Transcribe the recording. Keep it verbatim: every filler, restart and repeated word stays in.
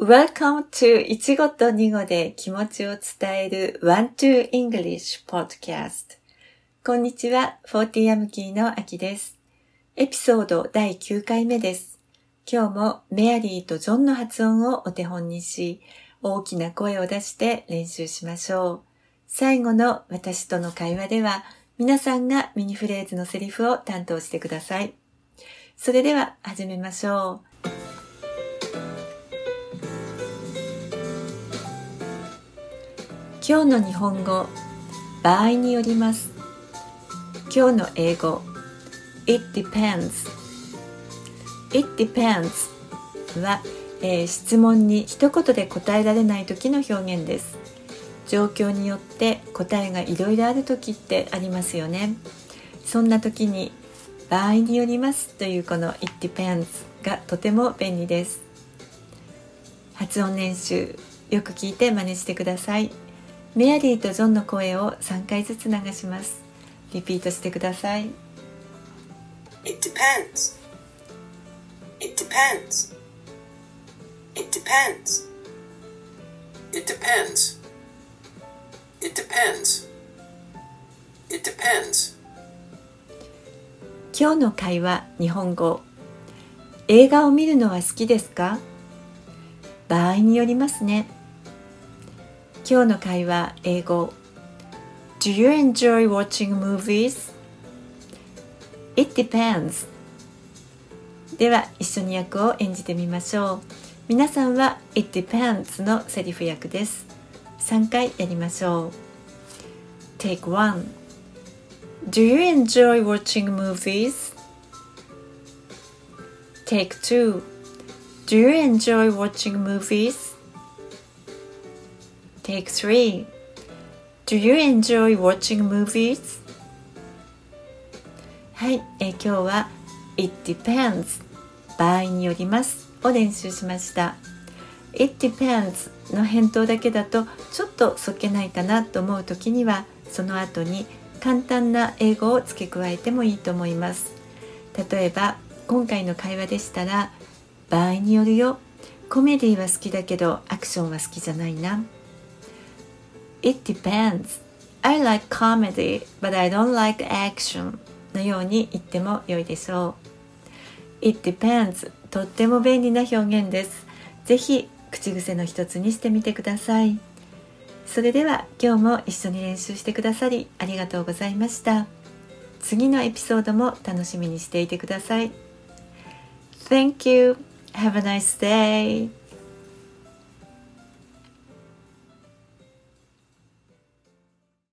Welcome to いちごとにごで気持ちを伝える ワンツー English Podcast。こんにちは、フォーティーアムキーのあきです。エピソードだいきゅうかいめです。今日もメアリーとジョンの発音をお手本にし、大きな声を出して練習しましょう。最後の私との会話では、皆さんがミニフレーズのセリフを担当してください。それでは始めましょう。今日の日本語、場合によります。今日の英語、It depends。It depends は、えー、質問に一言で答えられない時の表現です。状況によって答えがいろいろある時ってありますよね。そんな時に場合によりますというこの It depends がとても便利です。発音練習よく聞いて真似してください。メアリーとジョンの声をさんかいずつ流します。リピートしてください。 It depends. It depends. It depends. It depends. It depends. It depends. 今日の会話、日本語。映画を見るのは好きですか？場合によりますね。今日の会話、英語。Do you enjoy watching movies? It depends. では、一緒に役を演じてみましょう。皆さんは It depends のセリフ役です。さんかいやりましょう。Take one. Do you enjoy watching movies? Take two. Do you enjoy watching movies? Take three. Do you enjoy watching movies? はい、えー、今日は It depends 場合によりますを練習しました。It depends の返答だけだとちょっとそっけないかなと思うときにはその後に簡単な英語を付け加えてもいいと思います。例えば今回の会話でしたら場合によるよ。コメディは好きだけどアクションは好きじゃないな。It depends. I like comedy, but I don't like action. のように言っても良いでしょう。It depends. とっても便利な表現です。ぜひ口癖の一つにしてみてください。それでは今日も一緒に練習してくださりありがとうございました。次のエピソードも楽しみにしていてください。Thank you. Have a nice day.